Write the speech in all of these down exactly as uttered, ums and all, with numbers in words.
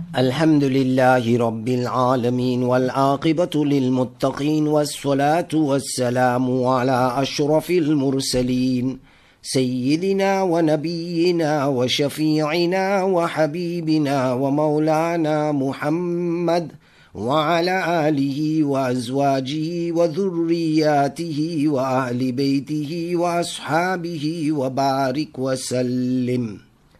الحمد لله رب العالمين والعاقبة للمتقين والصلاة والسلام على أشرف المرسلين سيدنا ونبينا وشفيعنا وحبيبنا ومولانا محمد وعلى آله وأزواجه وذرياته وأهل بيته وأصحابه وبارك وسلم.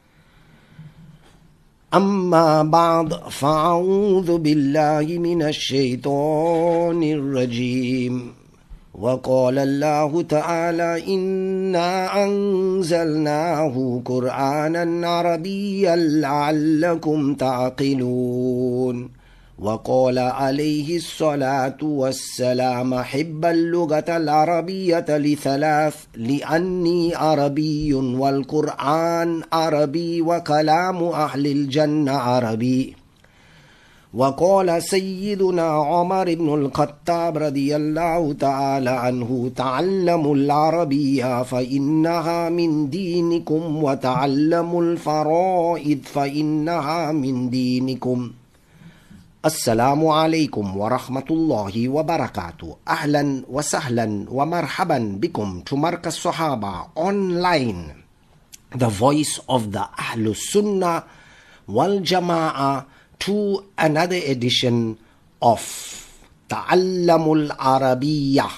أما بعد فأعوذ بالله من الشيطان الرجيم. وقال الله تعالى إنا أنزلناه قرآنا عربيا لعلكم تعقلون. وقال عليه الصلاة والسلام حب اللغة العربية لثلاث: لأني عربي والقرآن عربي وكلام أهل الجنة عربي. وقال سيدنا عمر بن الخطاب رضي الله تعالى عنه تعلموا العربية فإنها من دينكم وتعلموا الفرائض فإنها من دينكم. السلام عليكم ورحمة الله وبركاته. أهلا وسهلا ومرحبا بكم to Markaz Sahaba online, the voice of the Ahlus Sunnah wal Jama'ah, to another edition of Ta'allamul Arabiyyah,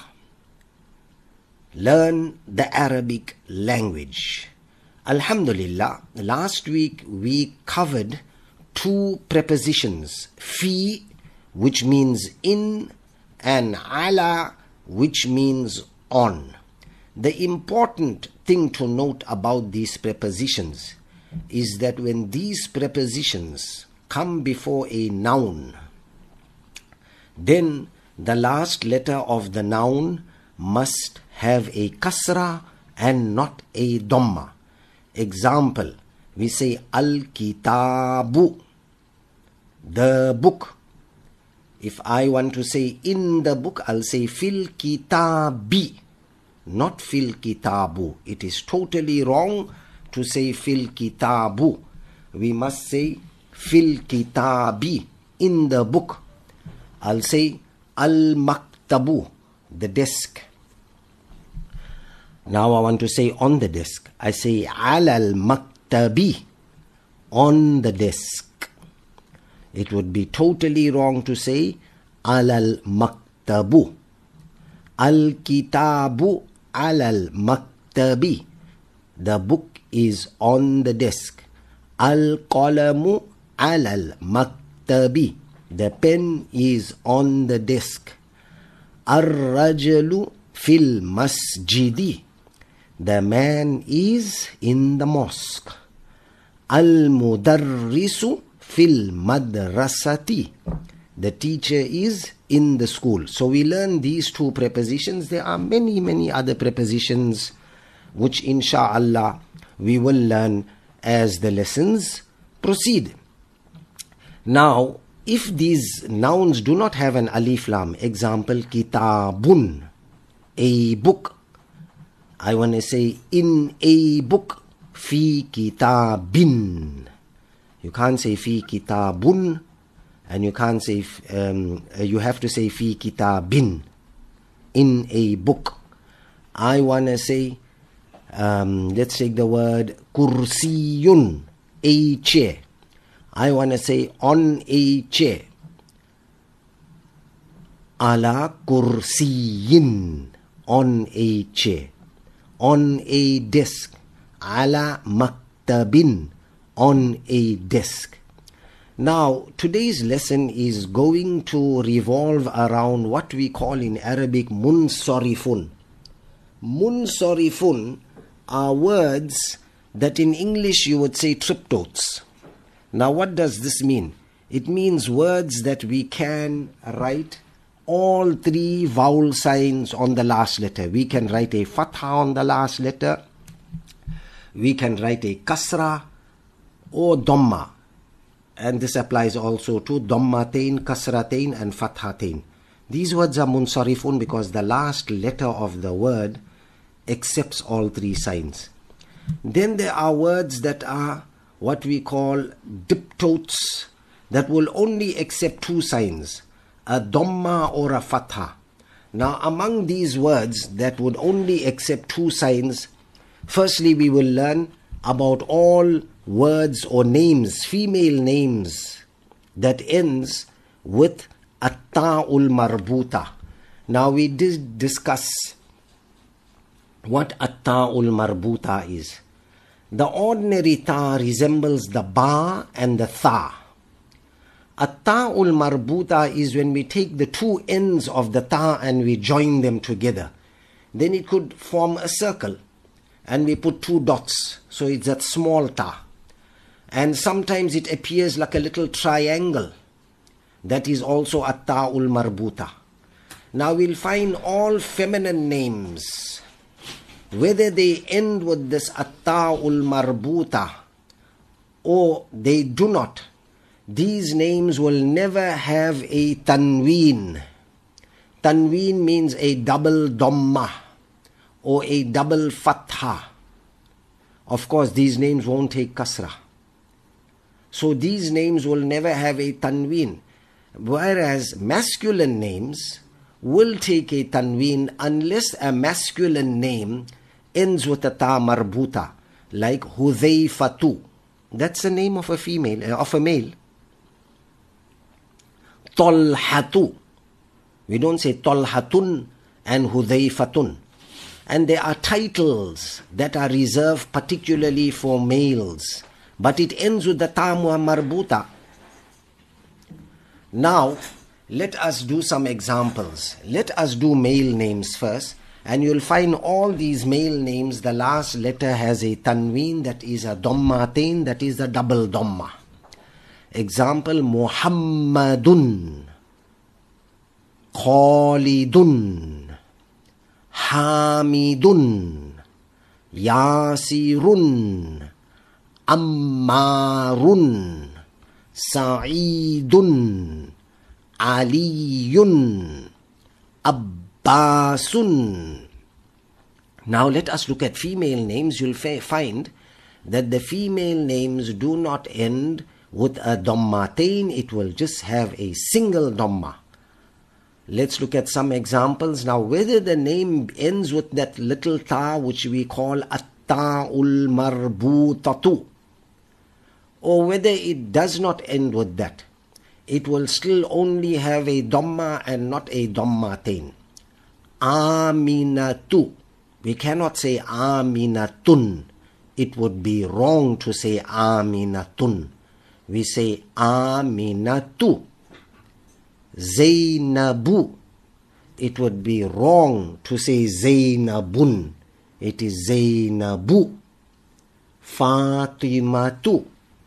learn the Arabic language. Alhamdulillah, last week we covered two prepositions, fi, which means in, and ala, which means on. The important thing to note about these prepositions is that when these prepositions come before a noun, then the last letter of the noun must have a kasra and not a dhamma. Example, we say al-kitabu, the book. If I want to say in the book, I'll say fil kitabi, not fil kitabu. It is totally wrong to say fil kitabu. We must say fil kitabi, in the book. I'll say al-maktabu, the desk. Now I want to say on the desk. I say al-maktabu, Tabi, on the desk. It would be totally wrong to say alal maktabu. Al kitabu alal maktabi. The book is on the desk. Al qalamu alal maktabi. The pen is on the desk. Ar rajulu fil masjidi. The man is in the mosque. Al-mudarrisu fil madrasati. The teacher is in the school. So we learn these two prepositions. There are many, many other prepositions which insha'Allah we will learn as the lessons proceed. Now, if these nouns do not have an alif lam, example, kitabun, a book, I want to say in a book, fi kitabin. You can't say fi kitabun, and you can't say, um, you have to say fi kitabin, in a book. I want to say, um, let's take the word kursiyun, a chair. I want to say on a chair. Ala kursiyin, on a chair. On a desk. Ala maktabin, on a desk. Now, today's lesson is going to revolve around what we call in Arabic munsarifun. Munsarifun are words that in English you would say triptotes. Now, what does this mean? It means words that we can write all three vowel signs on the last letter. We can write a fatha on the last letter. We can write a kasra or dhamma. And this applies also to dhammatain, kasratain and fathatain. These words are munsarifun because the last letter of the word accepts all three signs. Then there are words that are what we call diptotes. that will only accept two signs, a Dhamma or a Fatha. Now, among these words that would only accept two signs, firstly we will learn about all words or names, female names, that ends with At-Ta'ul Marbuta. Now we did discuss what At-Ta'ul Marbuta is. The ordinary Ta resembles the Ba and the Tha. At-Ta'ul Marbuta is when we take the two ends of the Ta and we join them together. Then it could form a circle and we put two dots. So it's that small Ta. And sometimes it appears like a little triangle. That is also At-Ta'ul Marbuta. Now we'll find all feminine names, whether they end with this At-Ta'ul Marbuta or they do not, these names will never have a Tanween. Tanween means a double Dhamma or a double Fatha. Of course, these names won't take Kasra. So these names will never have a Tanween. Whereas masculine names will take a Tanween unless a masculine name ends with a Ta Marbuta, like Hudhayfatu. That's the name of a female, uh, of a male. Talhatu. We don't say Talhatun and Hudhayfatun. And there are titles that are reserved particularly for males, but it ends with the Ta Marbuta. Now, let us do some examples. Let us do male names first, and you'll find all these male names, the last letter has a Tanween, that is a Dhammatain, that is the double Dhamma. Example, Muhammadun, Khalidun, Hamidun, Yasirun, Ammarun, Sa'idun, Aliyun, Abbasun. Now let us look at female names. You'll find that the female names do not end with a Dhammatain. It will just have a single Dhamma. Let's look at some examples. Now, whether the name ends with that little Ta which we call At-Ta'ul Marbutatu, or whether it does not end with that, it will still only have a Dhamma and not a Dhammatain. Aminatu. We cannot say Aminatun. It would be wrong to say Aminatun. We say Aminatu. Zainabu. It would be wrong to say Zainabun. It is Zainabu. Fatimatu.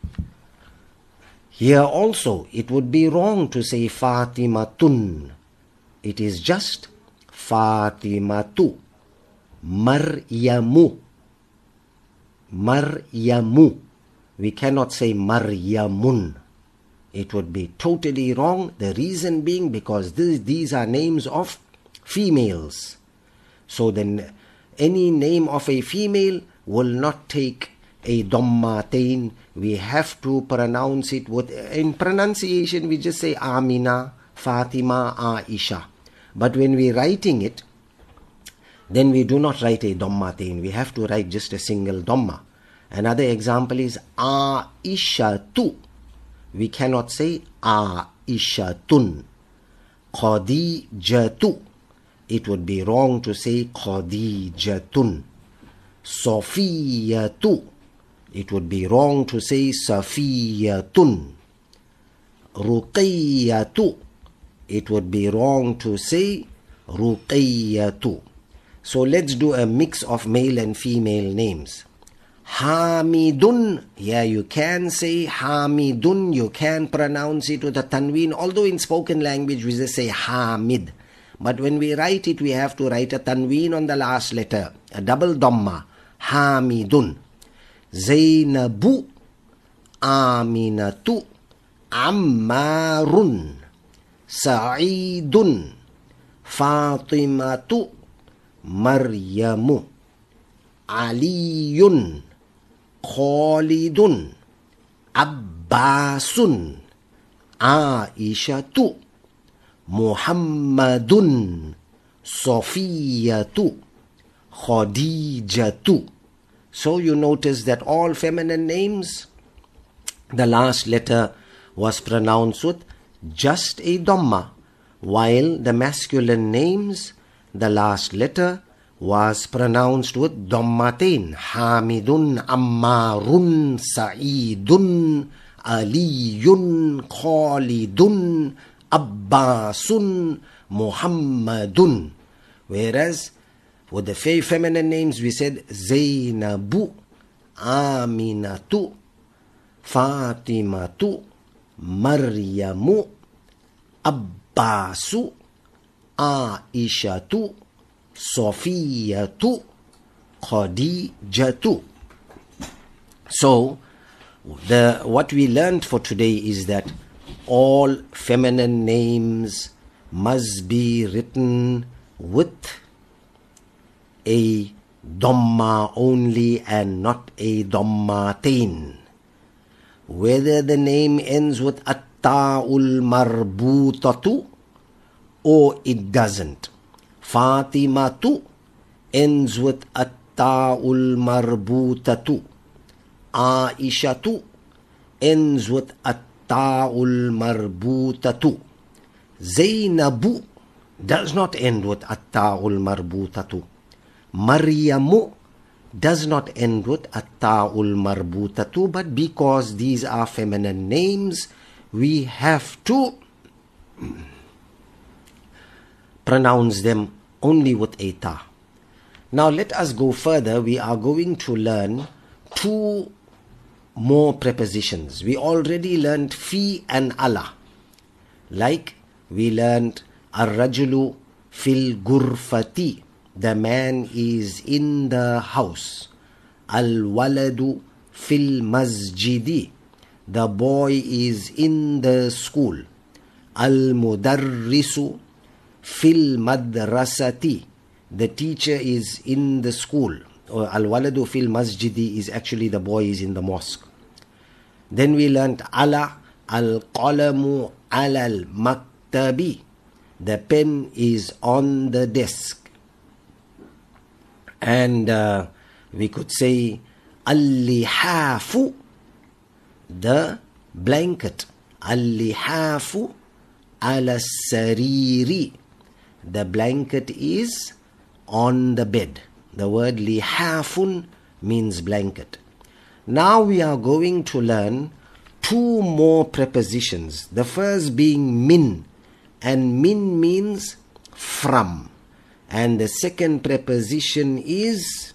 Here also, it would be wrong to say Fatimatun. It is just Fatimatu. Maryamu. Maryamu. We cannot say Maryamun. It would be totally wrong. The reason being because this, these are names of females. So then any name of a female will not take a Dhammatain. We have to pronounce it with, in pronunciation we just say Amina, Fatima, Aisha. But when we're writing it, then we do not write a Dhammatain. We have to write just a single Dhamma. Another example is Aishatu. We cannot say Aishatun. Khadijatu. It would be wrong to say Khadijatun. Safiyatu. It would be wrong to say Safiyatun. Ruqayyatu. It would be wrong to say Ruqayyatu. So let's do a mix of male and female names. Hamidun. Yeah, you can say Hamidun. You can pronounce it with a Tanween. Although in spoken language we just say Hamid. But when we write it, we have to write a Tanween on the last letter. A double Dhamma. Hamidun. Zainabu. Aminatu. Ammarun. Sa'idun. Fatimatu. Maryamu. Aliyun. Khalidun. Abbasun. Aishatu, Muhammadun, Sofiyatu, Khadijatu. So you notice that all feminine names, the last letter was pronounced with just a dhamma, while the masculine names, the last letter was pronounced with dhammatain. Hamidun, Ammarun, Sa'idun, Aliyun, Khalidun, Abbasun, Muhammadun. Whereas with the feminine names we said Zainabu, Aminatu, Fatimatu, Maryamu, Abbasu, Aishatu, Sofiyatu, Khadijatu. So the what we learned for today is that all feminine names must be written with a dhamma only and not a dhammatain. Whether the name ends with at-ta'ul marbutatu or it doesn't. Fatimatu ends with at-ta'ul marbutatu. Aishatu ends with at-ta'ul marbutatu. Zainabu does not end with at-ta'ul marbutatu. Maryamu does not end with at-ta'ul marbutatu, but because these are feminine names, we have to pronounce them only with a ta. Now let us go further. We are going to learn two more prepositions. We already learned fi and ala. Like we learned ar-rajulu fil gurfati, the man is in the house. Al-waladu fil masjidi, the boy is in the school. Al-mudarrisu fil madrasati, the teacher is in the school. Or al-waladu fil masjidi is actually the boy is in the mosque. Then we learned ala, al-qalamu ala al-maktabi, the pen is on the desk. And uh, we could say al-lihafu, the blanket. Al-lihafu ala sariri, the blanket is on the bed. The word lihafun means blanket. Now we are going to learn two more prepositions. The first being min, and min means from. And the second preposition is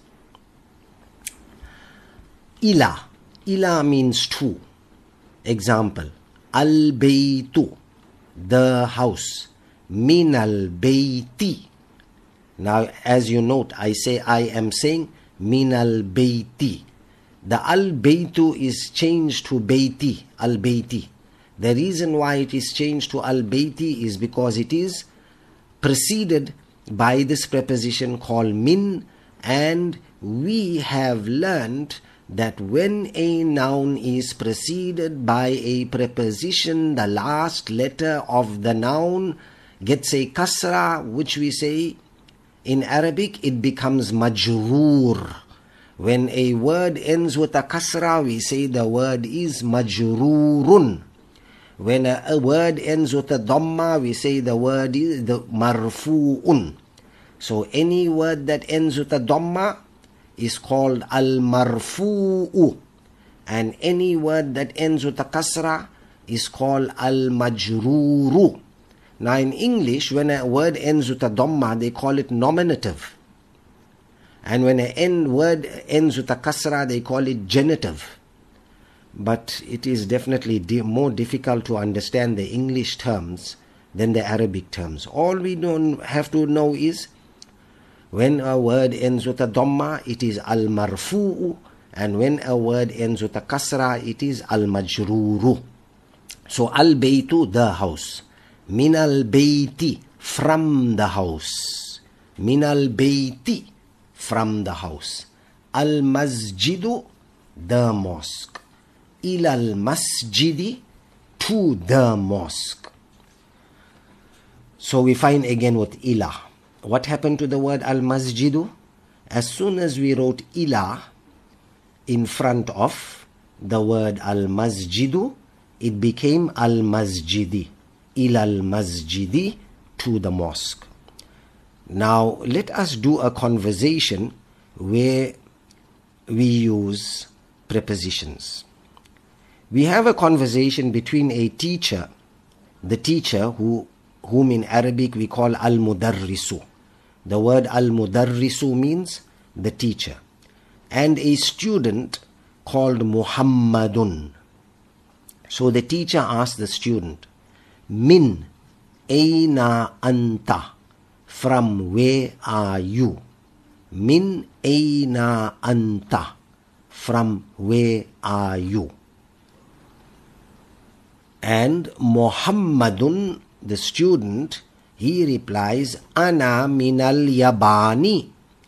ila. Ila means to. Example, al-baytu, the house. Min al-bayti. Now as you note, I say I am saying min al-bayti. The al-baytu is changed to bayti, al-bayti. The reason why it is changed to al-bayti is because it is preceded by this preposition called min, and we have learned that when a noun is preceded by a preposition, the last letter of the noun gets a kasra, which we say in Arabic it becomes majroor. When a word ends with a kasra, we say the word is majroorun. When a, a word ends with a dhamma, we say the word is the marfu'un. So any word that ends with a dhamma is called al-marfu'u, and any word that ends with a kasra is called al-majruru. Now in English, when a word ends with a dhamma, they call it nominative. And when a end word ends with a kasra, they call it genitive. But it is definitely di- more difficult to understand the English terms than the Arabic terms. All we don't have to know is when a word ends with a dhamma, it is al-marfu'u, and when a word ends with a kasra, it is al-majruru. So al-baytu, the house. Min al-bayti, from the house. Min al-bayti, from the house. Al-masjidu, the mosque. Ila al-masjidi, to the mosque. So we find again with ila. What happened to the word al-masjidu? As soon as we wrote ila in front of the word al-masjidu, it became al-masjidi. Ila al-masjidi, to the mosque. Now let us do a conversation where we use prepositions. We have a conversation between a teacher, the teacher who whom in Arabic we call al-mudarrisu. The word al-mudarrisu means the teacher. And a student called Muhammadun. So the teacher asked the student, Min aina anta? From where are you? Min aina anta? From where are you? And Muhammadun, the student, he replies, Ana minal Yabani.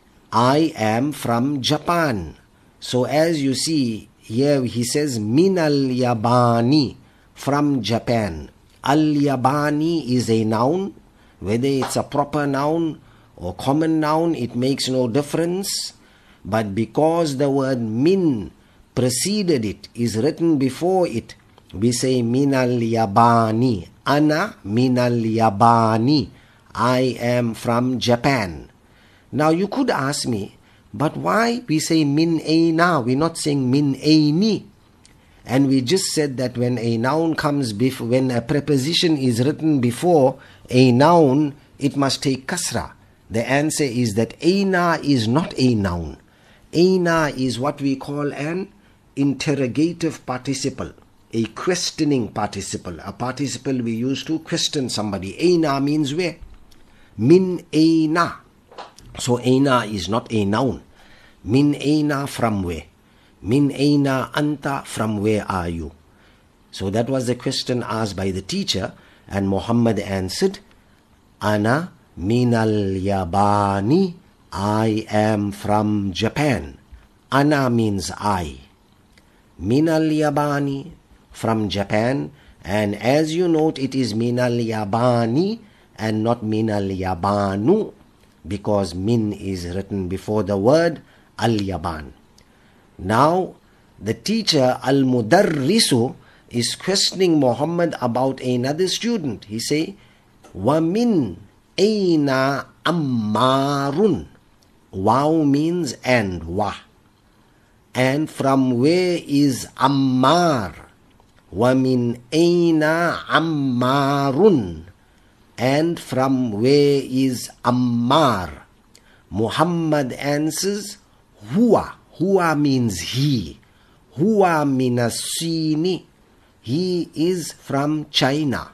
I am from Japan. So as you see here, he says minal Yabani, from Japan. Al-Yabani is a noun. Whether it's a proper noun or common noun, it makes no difference. But because the word min preceded it, is written before it, we say minal Yabani. Ana minal Yabani. I am from Japan. Now you could ask me, but why we say min aina? We're not saying min aini. And we just said that when a noun comes before, when a preposition is written before a noun, it must take kasra. The answer is that aina is not a noun. Aina is what we call an interrogative participle, a questioning participle, a participle we use to question somebody. Aina means where? Min aina. So aina is not a noun. Min aina, from where? Min aina anta, from where are you? So that was the question asked by the teacher, and Muhammad answered, Ana minal Yabani. I am from Japan. Ana means I. Minal Yabani, from Japan. And as you note, it is minal Yabani and not minal Yabanu, because min is written before the word al-Yaban. Now, the teacher, al-Mudarrisu, is questioning Muhammad about another student. He say, وَمِنْ أَيْنَا أَمَّارٌ. Waw means and, wa. And from where is Ammar? وَمِنْ أَيْنَا أَمَّارٌ. And from where is Ammar? Muhammad answers, Huwa. Huwa means he. Huwa minasini. He is from China.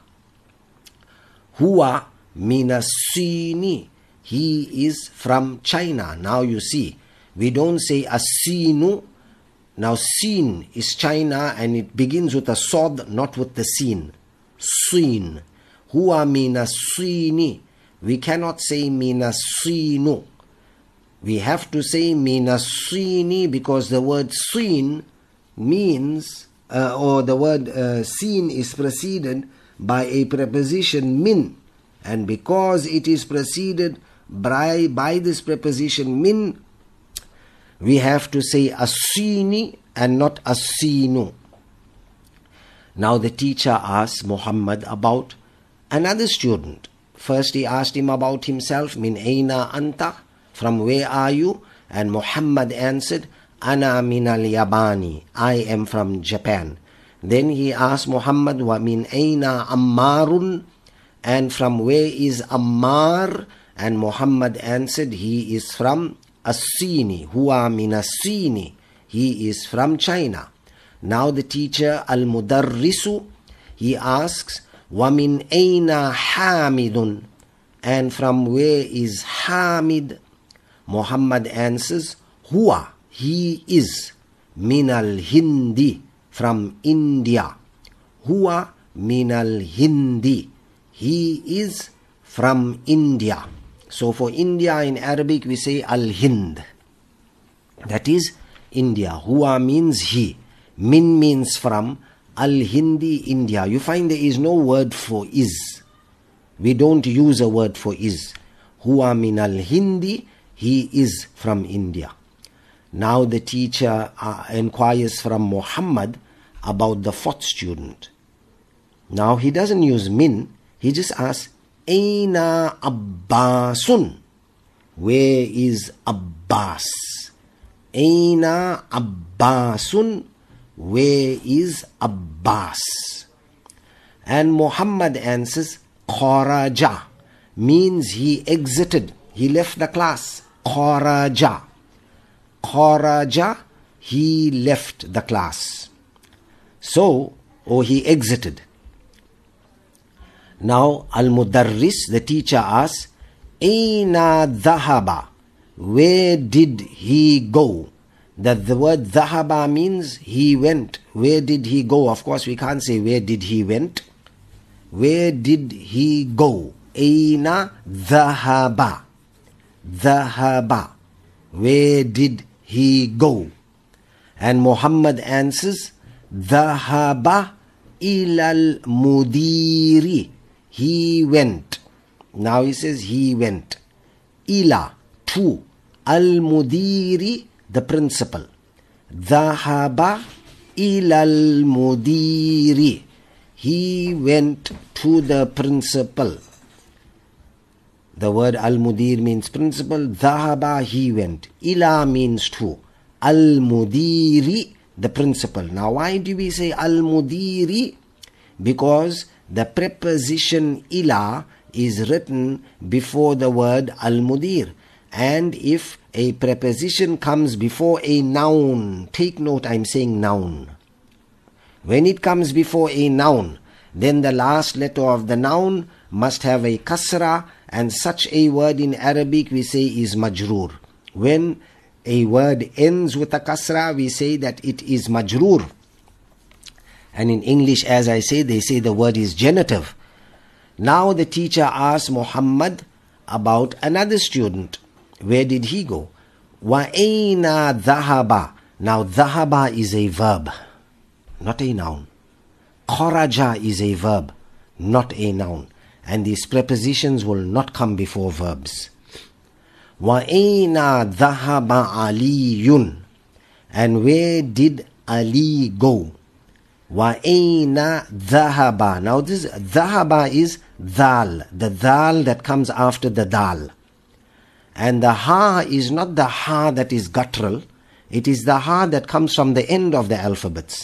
Huwa minasini. He is from China. Now you see, we don't say asinu. Now sin is China and it begins with a sod, not with the sin. Sin. Huwa minasini. We cannot say minasinu. We have to say minasini because the word sin means, uh, or the word uh, sin is preceded by a preposition min. And because it is preceded by, by this preposition min, we have to say asini and not asinu. Now the teacher asked Muhammad about another student. First he asked him about himself, min aina anta, from where are you? And Muhammad answered, Ana min al-Yabani. I am from Japan. Then he asked Muhammad, wa min aina Ammarun. And from where is Ammar? And Muhammad answered, he is from As-Sini. Huwa min As-Sini. He is from China. Now the teacher, al-Mudarrisu, he asks, wa min aina Hamidun. And from where is Hamid? Muhammad answers, Huwa, he is, minal Hindi, from India. Huwa minal Hindi, he is from India. So for India in Arabic we say al-Hind. That is India. Huwa means he. Min means from. Al-Hindi, India. You find there is no word for is. We don't use a word for is. Huwa min al-Hindi, he is from India. Now the teacher uh, inquires from Muhammad about the fourth student. Now he doesn't use min, he just asks, Aina Abbasun? Where is Abbas? Aina Abbasun? Where is Abbas? And Muhammad answers, Kharaja, means he exited, he left the class. Kharaja. Kharaja, he left the class. So, or he exited. Now, Al-Mudarris, the teacher asks, Aina dhahaba? Where did he go? That the word dhahaba means he went. Where did he go? Of course, we can't say where did he went. Where did he go? Aina dhahaba. Dhahaba. Where did he go? And Muhammad answers, Dhahaba ilal mudiri. He went. Now he says he went. Ila, to. Al-mudiri, the principal. Dhahaba ilal mudiri. He went to the principal. The word al-mudir means principal. Dhahaba, he went. Ila means to. Al-mudiri, the principal. Now why do we say al-mudiri? Because the preposition ila is written before the word al-mudir. And if a preposition comes before a noun, take note, I'm saying noun. When it comes before a noun, then the last letter of the noun must have a kasra, and such a word in Arabic we say is majroor. When a word ends with a kasra, we say that it is majroor. And in English, as I say, they say the word is genitive. Now the teacher asks Muhammad about another student. Where did he go? Wa aina dhahaba. Now dhahaba is a verb, not a noun. Kharaja is a verb, not a noun. And these prepositions will not come before verbs. Wa aina dhahaba aliyun. And where did Ali go? Wa aina dhahaba. Now this dhahaba is dal, the dal that comes after the dal. And the ha is not the ha that is guttural, it is the ha that comes from the end of the alphabets.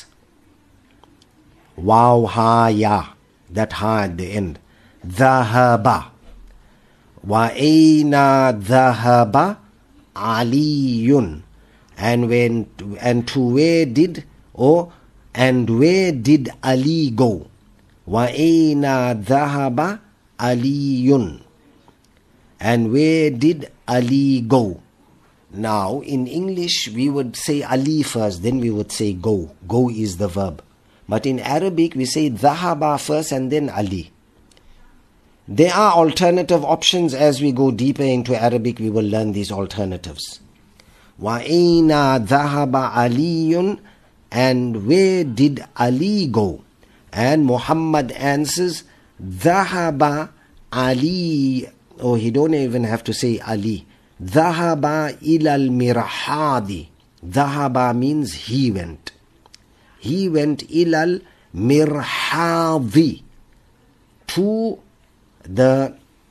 Waw, ha, ya, that ha at the end. Dhahaba. Wa aina dhahaba aliyun. And when and to where did or and where did Ali go? Wa aina dhahaba aliyun. And where did Ali go? Now in English we would say Ali first, then we would say go. Go is the verb. But in Arabic we say dhahaba first and then Ali. There are alternative options. As we go deeper into Arabic, we will learn these alternatives. Wa aina dhahaba aliyun. And where did Ali go? And Muhammad answers, dhahaba Ali. Oh, he don't even have to say Ali. Dhahaba ilal mirhadi. Dhahaba means he went. He went ilal mirhadi, to the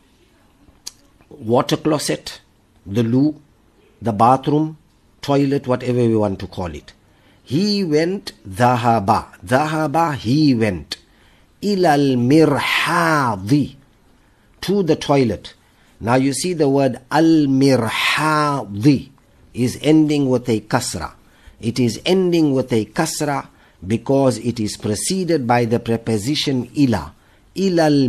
water closet, the loo, the bathroom, toilet, whatever we want to call it. He went, dhahaba. Dhahaba, he went. Ilal mirhadi, to the toilet. Now you see the word al-mirhadi is ending with a kasra. It is ending with a kasra because it is preceded by the preposition ila. Ilal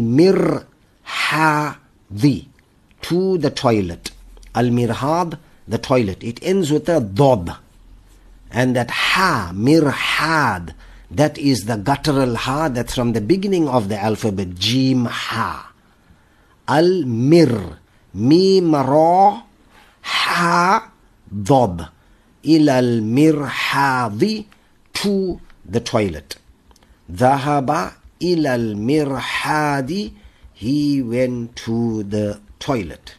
mirhadi, to the toilet. Al-mirhad, the toilet. It ends with a dod. And that ha, mirhad, that is the guttural ha that's from the beginning of the alphabet, jim ha. Al-mir, mim ra, ha, dod. Ilal mirhadi, to the toilet. Dhahaba ilal mirhadi. He went to the toilet.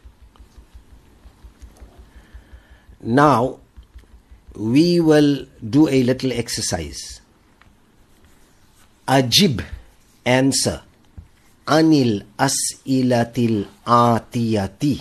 Now, we will do a little exercise. Ajib, answer. Anil as'ilatil atiyati.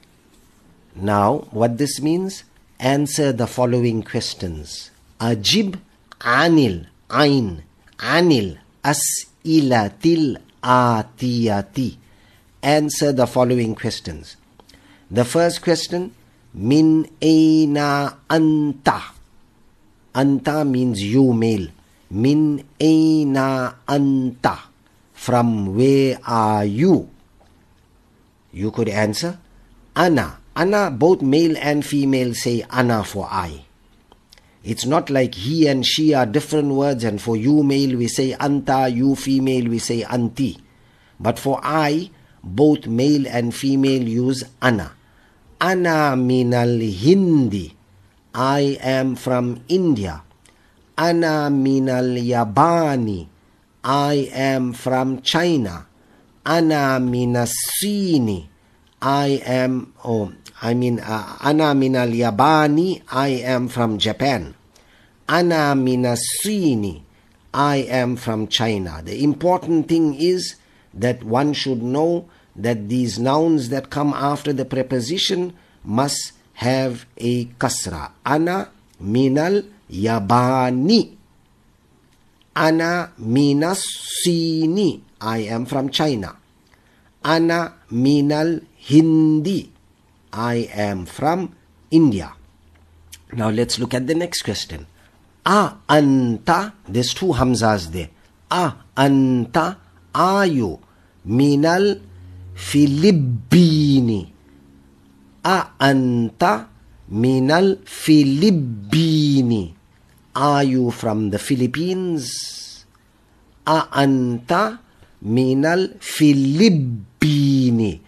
Now, what this means? Answer the following questions. Ajib, anil, ain, anil as'ilatil atiyati. Answer the following questions. The first question, min aina anta. Anta means you, male. Min aina anta. From where are you? You could answer ana. Ana, both male and female say ana for I. It's not like he and she are different words, and for you male we say anta, you female we say anti. But for I, both male and female use ana. Ana minal Hindi. I am from India. Ana minal Yabani. I am from China. Ana minas Sini. I am, oh, I mean, uh, Ana minal Yabani. I am from Japan. Ana minas Sini. I am from China. The important thing is that one should know that these nouns that come after the preposition must have a kasra. Ana minal Yabani. Ana minas Sini. I am from China. Ana minal Hindi. I am from India. Now let's look at the next question. A anta, there's two hamzas there. A anta, are you minal Filibbini? A anta minal Filibbini. Are you from the Philippines? A anta minal Filibbini.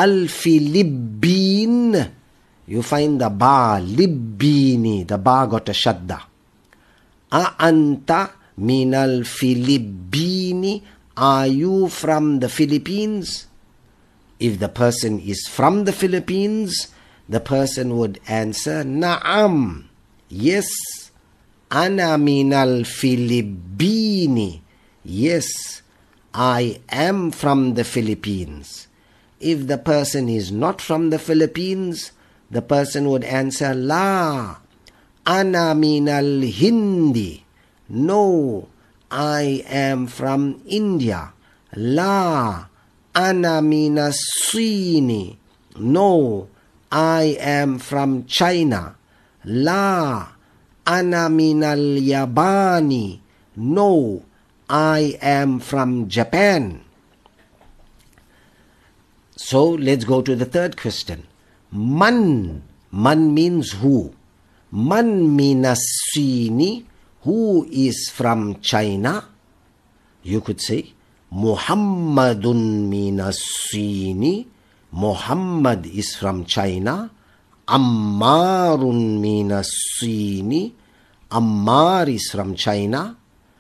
Al-Filibbin. You find the ba, libbini. The ba got a shadda. A anta minal Filibbini. Are you from the Philippines? If the person is from the Philippines, the person would answer Na'am. Yes. Ana minal Filibbini. Yes, I am from the Philippines. If the person is not from the Philippines, the person would answer La. Ana minal Hindi. No, I am from India. La. Ana minas Sini. No, I am from China. La. Ana minal Yabani. No, I am from Japan. So let's go to the third question. Man. Man means who. Man minas Sini. Who is from China? You could say Muhammadun minas Sini. Muhammad is from China. Ammarun minas Sini. Ammar is from China.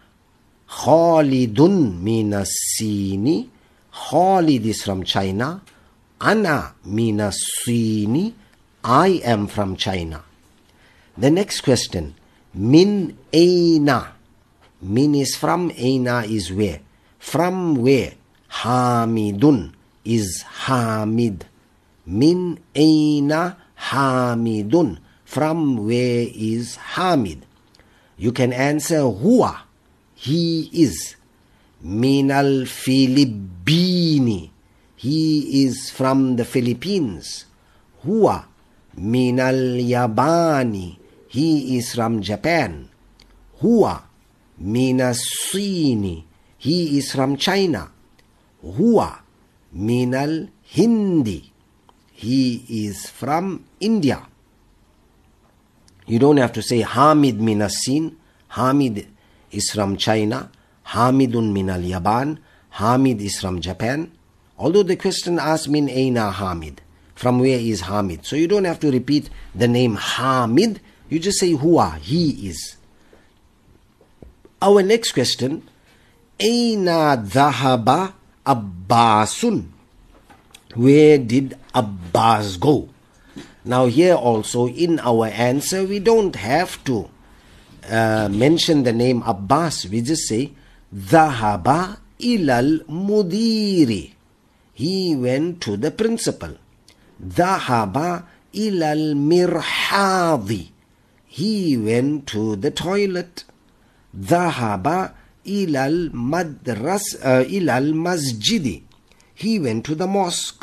Khalidun minas Sini. Khalid is from China. Ana minas Sini. I am from China. The next question. Min aina. Min is from, aina is where. From where? Hamidun is Hamid. Min aina Hamidun. From where is Hamid? You can answer huwa. He is. Minal Filibbini. He is from the Philippines. Huwa minal Yabani. He is from Japan. Huwa minas Sini. He is from China. Huwa minal Hindi. He is from India. You don't have to say Hamid minas Sin. Hamid is from China. Hamidun minal Yaban. Hamid is from Japan. Although the question asks min aina Hamid. From where is Hamid? So you don't have to repeat the name Hamid. You just say huwa, he is. Our next question Aina dhahaba Abbasun. Where did Abbas go? Now here also in our answer we don't have to uh, mention the name Abbas. We just say Dhahaba ilal mudiri. He went to the principal. Dhahaba ilal mirhadi. He went to the toilet. Dhahaba ilal madras uh, ilal masjidi. He went to the mosque.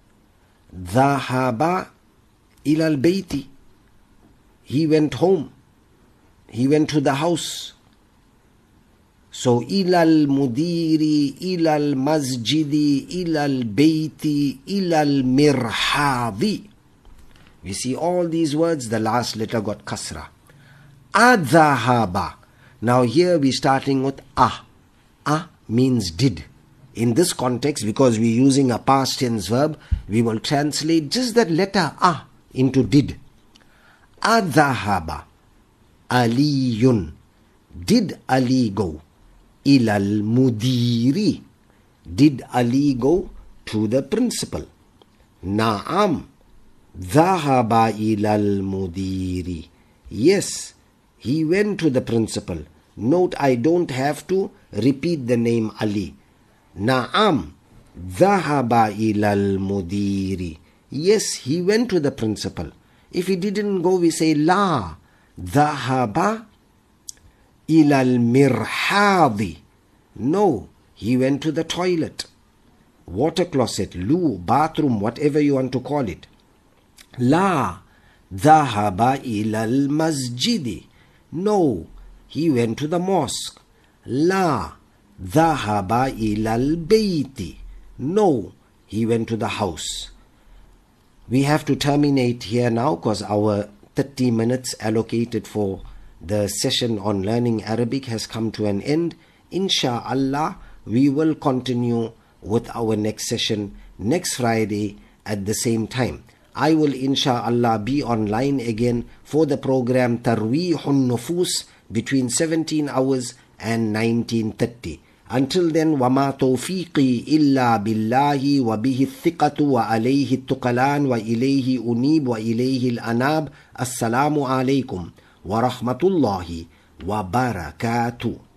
Dhahaba ilal bayti. He went home. He went to the house. So ilal mudiri, ilal masjidi, ilal bayti, ilal mirhadi. We see all these words, the last letter got kasra. Adhahaba. Now here we're starting with ah. Ah means did. In this context, because we're using a past tense verb, we will translate just that letter ah into did. Adhahaba Aliyun. Did Ali go? Ilal mudiri. Did Ali go to the principal? Naam. Dhahaba ilal mudiri. Yes, he went to the principal. Note, I don't have to repeat the name Ali. Naam. Dhahaba ilal mudiri. Yes, he went to the principal. If he didn't go, we say La. Dhahaba ilal mirhadi. No, he went to the toilet, water closet, loo, bathroom, whatever you want to call it. La. Dhahaba ilal masjidi. No, he went to the mosque. La. Dhahaba ilal bayti. No, he went to the house. We have to terminate here now because our thirty minutes allocated for the session on learning Arabic has come to an end. Insha'Allah, we will continue with our next session next Friday at the same time. I will insha'Allah be online again for the program Tarweehun Nufus between seventeen hours and nineteen thirty. Until then, وَمَا تَوْفِيقِي إِلَّا بِاللَّهِ وَبِهِ الثِّقَةُ وَعَلَيْهِ التُّكَلَانُ وَإِلَيْهِ أُنِيبُ وَإِلَيْهِ الْأَنَابُ. السلام عليكم ورحمة الله وبركاته.